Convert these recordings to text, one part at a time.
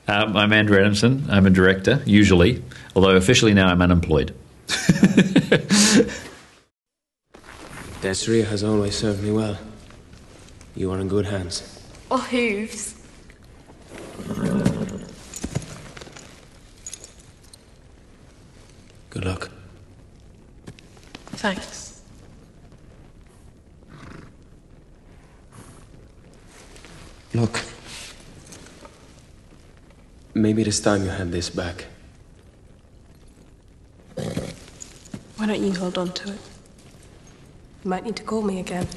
I'm Andrew Adamson. I'm a director, usually, although officially now I'm unemployed. Desiree has always served me well. You are in good hands. Or hooves. Good luck. Thanks. Look. Maybe this time you have this back. Why don't you hold on to it? You might need to call me again.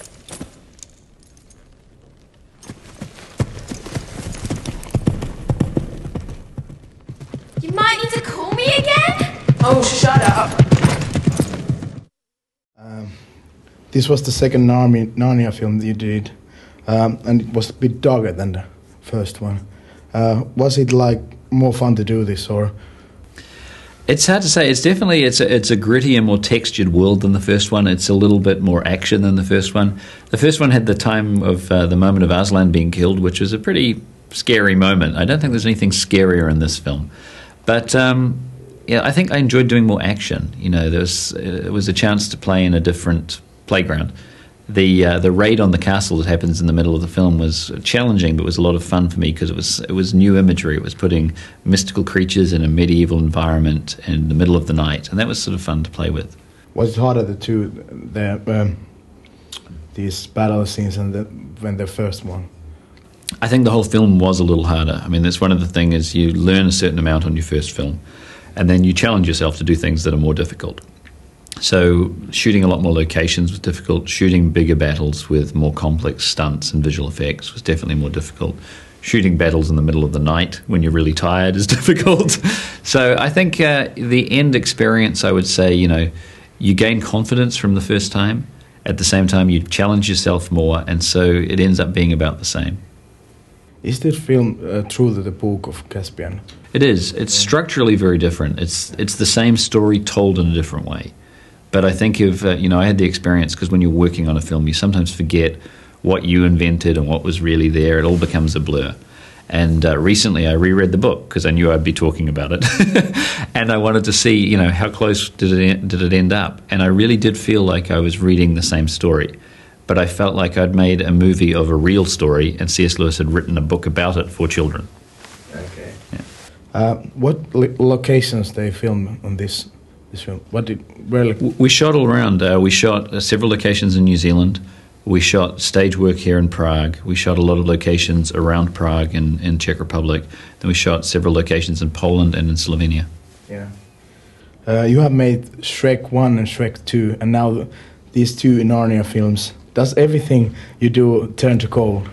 You might need to call me again? Oh, shut up. This was the second Narnia film that you did, and it was a bit darker than the first one. Was it like more fun to do this, or? It's hard to say. It's definitely it's a grittier, more textured world than the first one. It's a little bit more action than the first one. The first one had the time of the moment of Aslan being killed, which was a pretty scary moment. I don't think there's anything scarier in this film, but yeah, I think I enjoyed doing more action. You know, it was a chance to play in a different playground. The raid on the castle that happens in the middle of the film was challenging, but was a lot of fun for me because it was new imagery. It was putting mystical creatures in a medieval environment in the middle of the night, and that was sort of fun to play with. Was it harder these battle scenes than the first one? I think the whole film was a little harder. I mean, that's one of the things is you learn a certain amount on your first film, and then you challenge yourself to do things that are more difficult. So shooting a lot more locations was difficult. Shooting bigger battles with more complex stunts and visual effects was definitely more difficult. Shooting battles in the middle of the night when you're really tired is difficult. So I think the end experience, I would say, you gain confidence from the first time. At the same time, you challenge yourself more, and so it ends up being about the same. Is this film true to the book of Caspian? It is. It's structurally very different. It's the same story told in a different way. But I think I had the experience because when you're working on a film, you sometimes forget what you invented and what was really there. It all becomes a blur. And recently I reread the book because I knew I'd be talking about it. And I wanted to see, how close did it end up. And I really did feel like I was reading the same story. But I felt like I'd made a movie of a real story and C.S. Lewis had written a book about it for children. Okay. Yeah. What locations they filmed on this film? We shot all around. We shot several locations in New Zealand. We shot stage work here in Prague. We shot a lot of locations around Prague and in Czech Republic. Then we shot several locations in Poland and in Slovenia. Yeah. You have made Shrek 1 and Shrek 2, and now these two Narnia films. Does everything you do turn to coal?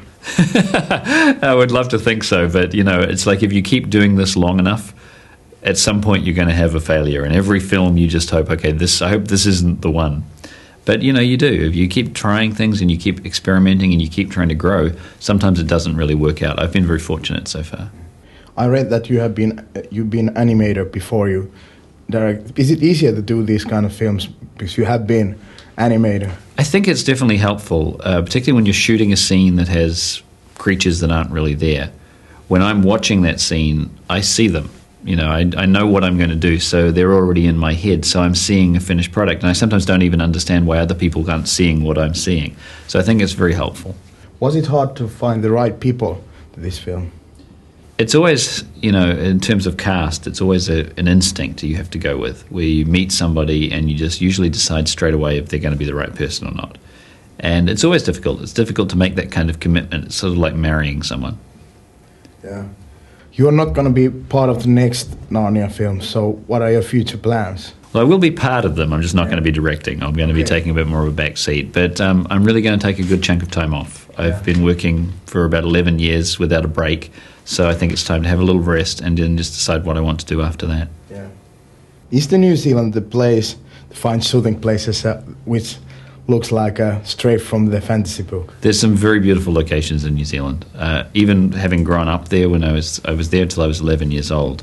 I would love to think so, but it's like if you keep doing this long enough, at some point you're going to have a failure. In every film you just hope, okay, I hope this isn't the one. But you do. If you keep trying things and you keep experimenting and you keep trying to grow, sometimes it doesn't really work out. I've been very fortunate so far. I read that you've been animator before you direct. Is it easier to do these kind of films because you have been animator? I think it's definitely helpful, particularly when you're shooting a scene that has creatures that aren't really there. When I'm watching that scene, I see them. I know what I'm going to do, so they're already in my head, so I'm seeing a finished product, and I sometimes don't even understand why other people aren't seeing what I'm seeing. So I think it's very helpful. Was it hard to find the right people to this film? It's always, in terms of cast, it's always an instinct you have to go with, where you meet somebody and you just usually decide straight away if they're going to be the right person or not. And it's always difficult. It's difficult to make that kind of commitment. It's sort of like marrying someone. Yeah. You're not going to be part of the next Narnia film, so what are your future plans? Well, I will be part of them. I'm just not going to be directing. I'm going to be taking a bit more of a back seat. But I'm really going to take a good chunk of time off. I've been working for about 11 years without a break, so I think it's time to have a little rest and then just decide what I want to do after that. Yeah. Is the New Zealand the place to find shooting places which looks like straight from the fantasy book? There's some very beautiful locations in New Zealand. Even having grown up there when I was there till I was 11 years old,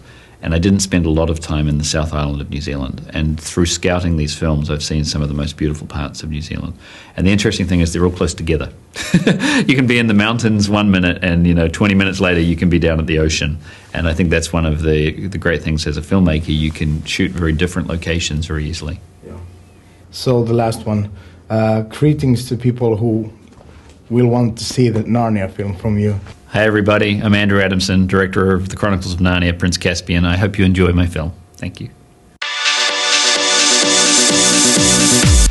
And I didn't spend a lot of time in the South Island of New Zealand. And through scouting these films, I've seen some of the most beautiful parts of New Zealand. And the interesting thing is they're all close together. You can be in the mountains 1 minute and, 20 minutes later you can be down at the ocean. And I think that's one of the great things as a filmmaker. You can shoot very different locations very easily. Yeah. So the last one, greetings to people who will want to see the Narnia film from you. Hi everybody, I'm Andrew Adamson, director of The Chronicles of Narnia, Prince Caspian. I hope you enjoy my film. Thank you.